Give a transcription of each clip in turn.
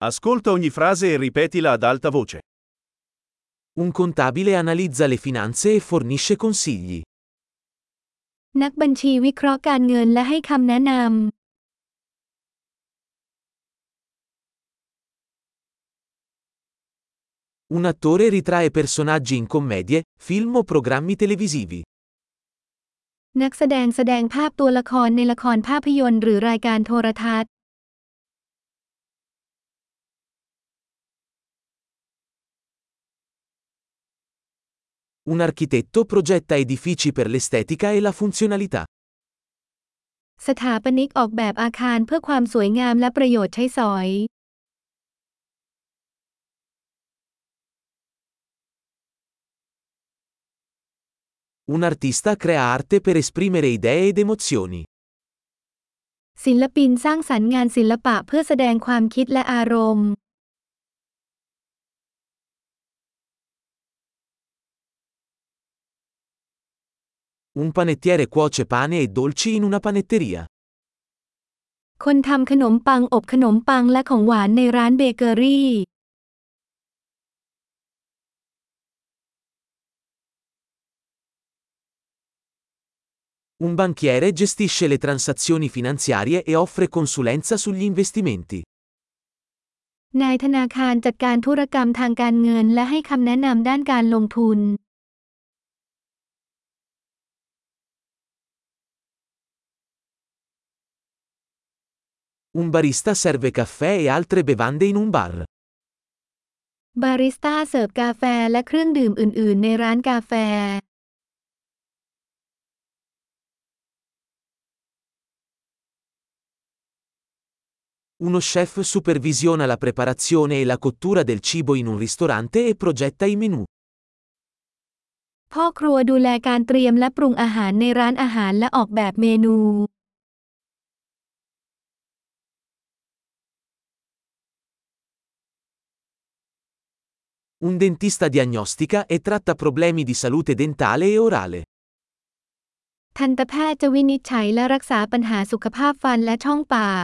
Ascolta ogni frase e ripetila ad alta voce. Un contabile analizza le finanze e fornisce consigli. นักบัญชีวิเคราะห์การเงินและให้คำแนะนำ Un attore ritrae personaggi in commedie, film o programmi televisivi. นักแสดงแสดงภาพตัวละครในละครภาพยนตร์หรือรายการโทรทัศน์ Un architetto progetta edifici per l'estetica e la funzionalità. สถาปนิกออกแบบอาคารเพื่อความสวยงามและประโยชน์ใช้สอย Un artista crea arte per esprimere idee ed emozioni. ศิลปินสร้างสรรค์งานศิลปะเพื่อแสดงความคิดและอารมณ์ Un panettiere cuoce pane e dolci in una panetteria. คนทำขนมปังอบขนมปังและของหวานในร้านเบเกอรี่ Un banchiere gestisce le transazioni finanziarie e offre consulenza sugli investimenti. นายธนาคารจัดการธุรกรรมทางการเงินและให้คำแนะนำด้านการลงทุน Un barista serve caffè e altre bevande in un bar. บาริสต้าเสิร์ฟกาแฟและเครื่องดื่มอื่นๆในร้านกาแฟ Uno chef supervisiona la preparazione e la cottura del cibo in un ristorante e progetta i menù. พ่อครัวดูแลการเตรียมและปรุงอาหารในร้านอาหารและออกแบบเมนู Un dentista diagnostica e tratta problemi di salute dentale e orale. ทันตแพทย์จะวินิจฉัยและรักษาปัญหาสุขภาพฟันและช่องปาก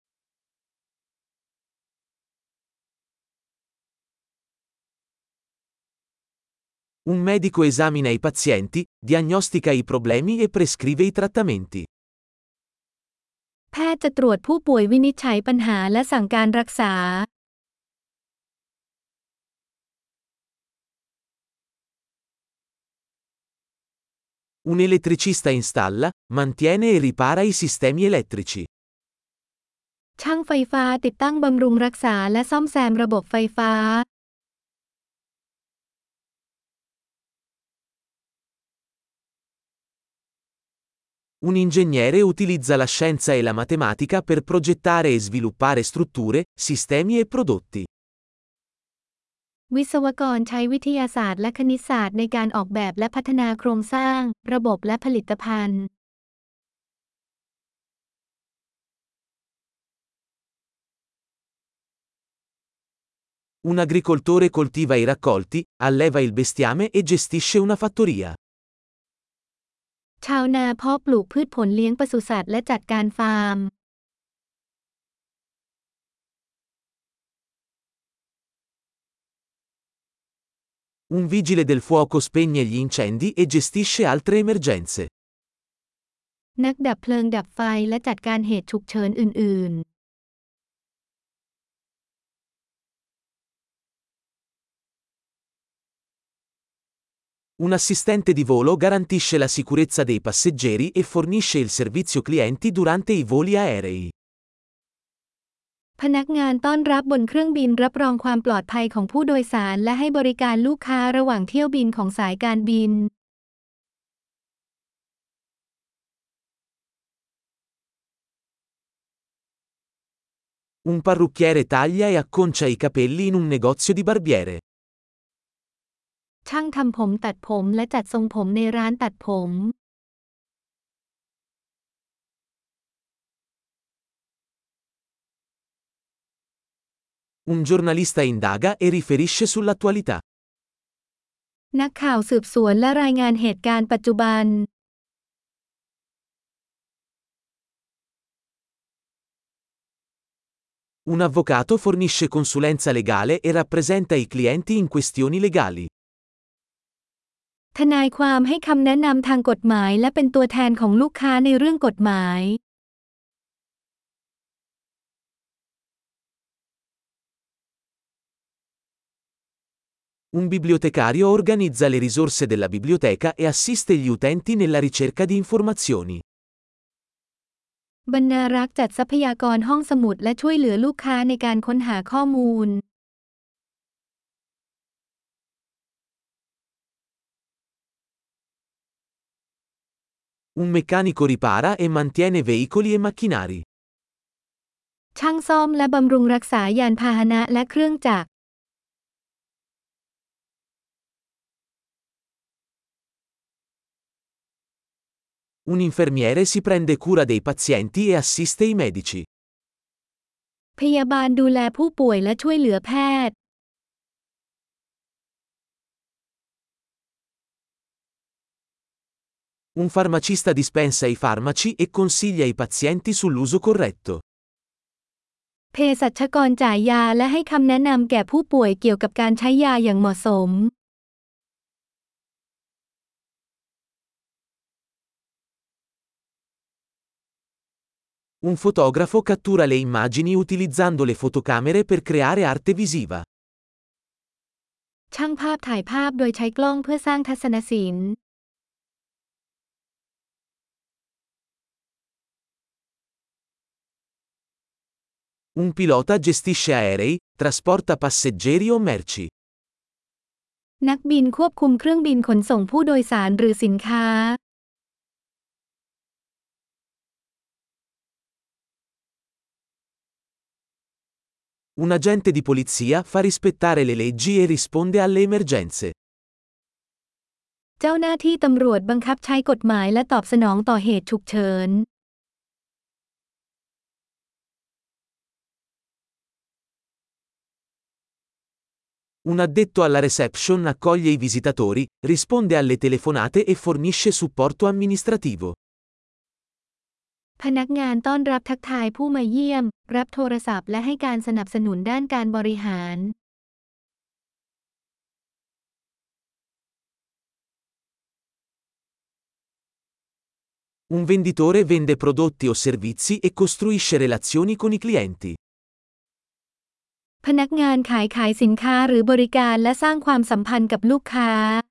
Un medico esamina i pazienti, diagnostica i problemi e prescrive i trattamenti. แพทย์จะตรวจผู้ป่วยวินิจฉัยปัญหาและสั่งการรักษา Un elettricista installa, mantiene e ripara i sistemi elettrici. ช่างไฟฟ้าติดตั้งบำรุงรักษาและซ่อมแซมระบบไฟฟ้า Un ingegnere utilizza la scienza e la matematica per progettare e sviluppare strutture, sistemi e prodotti. วิศวกรใช้วิทยาศาสตร์และคณิตศาสตร์ในการออกแบบและพัฒนาโครงสร้าง ระบบและผลิตภัณฑ์ Un agricoltore coltiva i raccolti, alleva il bestiame e gestisce una fattoria. ชาวนาเพาะปลูกพืชผลเลี้ยงปศุสัตว์และจัดการฟาร์ม Un vigile del fuoco spegne gli incendi e gestisce altre emergenze. นักดับเพลิงดับไฟและจัดการเหตุฉุกเฉินอื่นๆ Un assistente di volo garantisce la sicurezza dei passeggeri e fornisce il servizio clienti durante i voli aerei. พนักงานต้อนรับบนเครื่องบินรับรองความปลอดภัยของผู้โดยสารและให้บริการลูกค้าระหว่างเที่ยวบินของสายการบิน Un parrucchiere taglia e acconcia i capelli in un negozio di barbiere. ช่างทำผมตัดผมและจัดทรงผมในร้านตัดผม Un giornalista indaga e riferisce sull'attualità. นักข่าวสืบสวนและรายงานเหตุการณ์ปัจจุบัน Un avvocato fornisce consulenza legale e rappresenta i clienti in questioni legali. ทนายความให้คำแนะนำทางกฎหมายและเป็นตัวแทนของลูกค้าในเรื่องกฎหมาย Un bibliotecario organizza le risorse della biblioteca e assiste gli utenti nella ricerca di informazioni. บรรณารักษ์จัดทรัพยากรห้องสมุดและช่วยเหลือลูกค้าในการค้นหาข้อมูล Un meccanico ripara e mantiene veicoli e macchinari. ช่างซ่อมและบำรุงรักษายานพาหนะและเครื่องจักร Un infermiere si prende cura dei pazienti e assiste i medici. พยาบาลดูแลผู้ป่วยและช่วยเหลือแพทย์ Un farmacista dispensa i farmaci e consiglia i pazienti sull'uso corretto. เภสัชกรจ่ายยาและให้คำแนะนำแก่ผู้ป่วยเกี่ยวกับการใช้ยาอย่างเหมาะสม Un fotografo cattura le immagini utilizzando le fotocamere per creare arte visiva. ช่างภาพถ่ายภาพโดยใช้กล้องเพื่อสร้างทัศนศิลป์ Un pilota gestisce aerei, trasporta passeggeri o merci. นักบินควบคุมเครื่องบินขนส่งผู้โดยสารหรือสินค้า Un agente di polizia fa rispettare le leggi e risponde alle emergenze. เจ้าหน้าที่ตำรวจบังคับใช้กฎหมายและตอบสนองต่อเหตุฉุกเฉิน Un addetto alla reception accoglie i visitatori, risponde alle telefonate e fornisce supporto amministrativo. พนักงานต้อนรับทักทายผู้มาเยี่ยม รับโทรศัพท์และให้การสนับสนุนด้านการบริหาร Un venditore vende prodotti o servizi e costruisce relazioni con i clienti. พนักงานขายสินค้าหรือบริการและสร้างความสัมพันธ์กับลูกค้า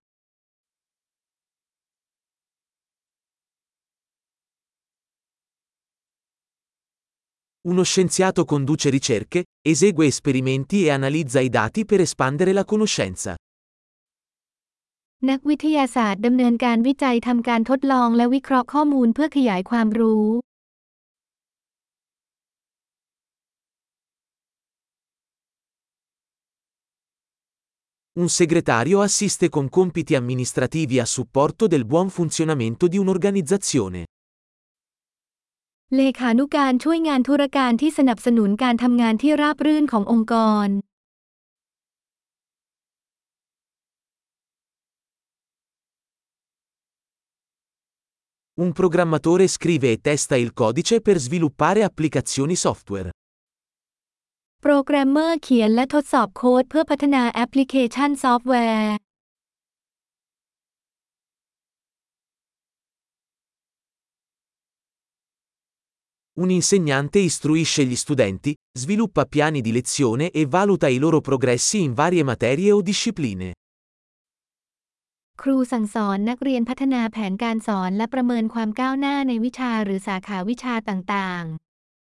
Uno scienziato conduce ricerche, esegue esperimenti e analizza i dati per espandere la conoscenza. นักวิทยาศาสตร์ดำเนินการวิจัยทำการทดลองและวิเคราะห์ข้อมูลเพื่อขยายความรู้ Un segretario assiste con compiti amministrativi a supporto del buon funzionamento di un'organizzazione. เลขานุการช่วยงานธุรการที่สนับสนุนการทำงานที่ราบรื่นขององค์กร Un programmatore scrive e testa il codice per sviluppare applicazioni software. โปรแกรมเมอร์เขียนและทดสอบโค้ดเพื่อพัฒนาแอปพลิเคชันซอฟต์แวร์ Un insegnante istruisce gli studenti, sviluppa piani di lezione e valuta i loro progressi in varie materie o discipline. ครูสั่งสอนนักเรียนพัฒนาแผนการสอนและประเมินความก้าวหน้าในวิชาหรือสาขาวิชาต่างๆ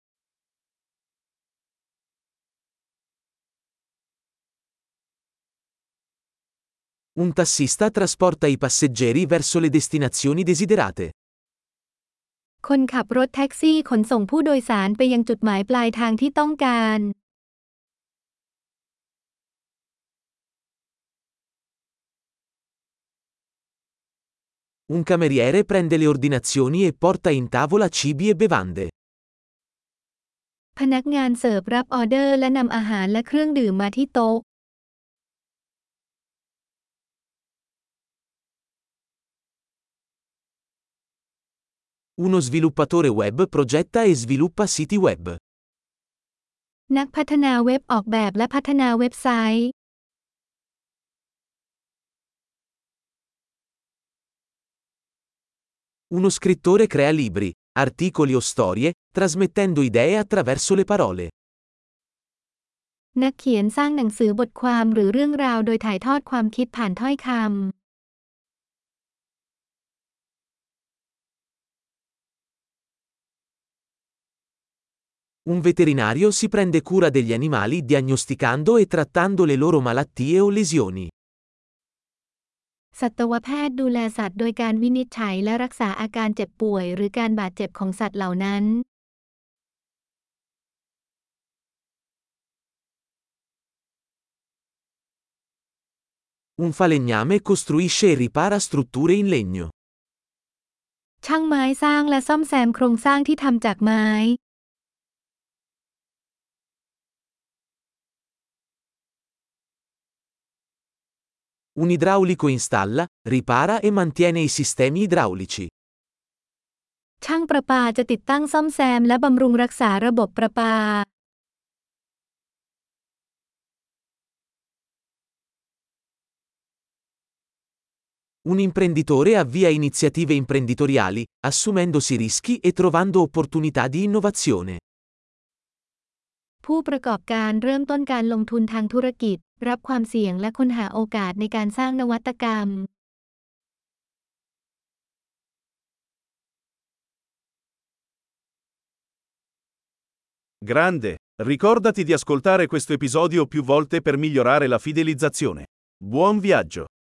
Un tassista trasporta i passeggeri verso le destinazioni desiderate. คนขับรถแท็กซี่ขนส่งผู้โดยสารไปยังจุดหมายปลายทางที่ต้องการ Un cameriere prende le ordinazioni e porta in tavola cibi e bevande. พนักงานเสิร์ฟรับออเดอร์และนำอาหารและเครื่องดื่มมาที่โต๊ะ Uno sviluppatore web progetta e sviluppa siti web. นักพัฒนาเว็บออกแบบและพัฒนาเว็บไซต์ Uno scrittore crea libri, articoli o storie, trasmettendo idee attraverso le parole. นักเขียนสร้างหนังสือบทความหรือเรื่องราวโดยถ่ายทอดความคิดผ่านถ้อยคำ Un veterinario si prende cura degli animali diagnosticando e trattando le loro malattie o lesioni. สัตวแพทย์ดูแลสัตว์โดยการวินิจฉัยและรักษาอาการเจ็บป่วยหรือการบาดเจ็บของสัตว์เหล่านั้น Un falegname costruisce e ripara strutture in legno. ช่างไม้สร้างและซ่อมแซมโครงสร้างที่ทำจากไม้ Un idraulico installa, ripara e mantiene i sistemi idraulici. ช่างประปาจะติดตั้งซ่อมแซมและบำรุงรักษาระบบประปา Un imprenditore avvia iniziative imprenditoriali, assumendosi rischi e trovando opportunità di innovazione. ผู้ประกอบการเริ่มต้นการลงทุนทางธุรกิจ รับความเสี่ยงและค้นหาโอกาสในการสร้างนวัตกรรม Grande! Ricordati di ascoltare questo episodio più volte per migliorare la fidelizzazione. Buon viaggio!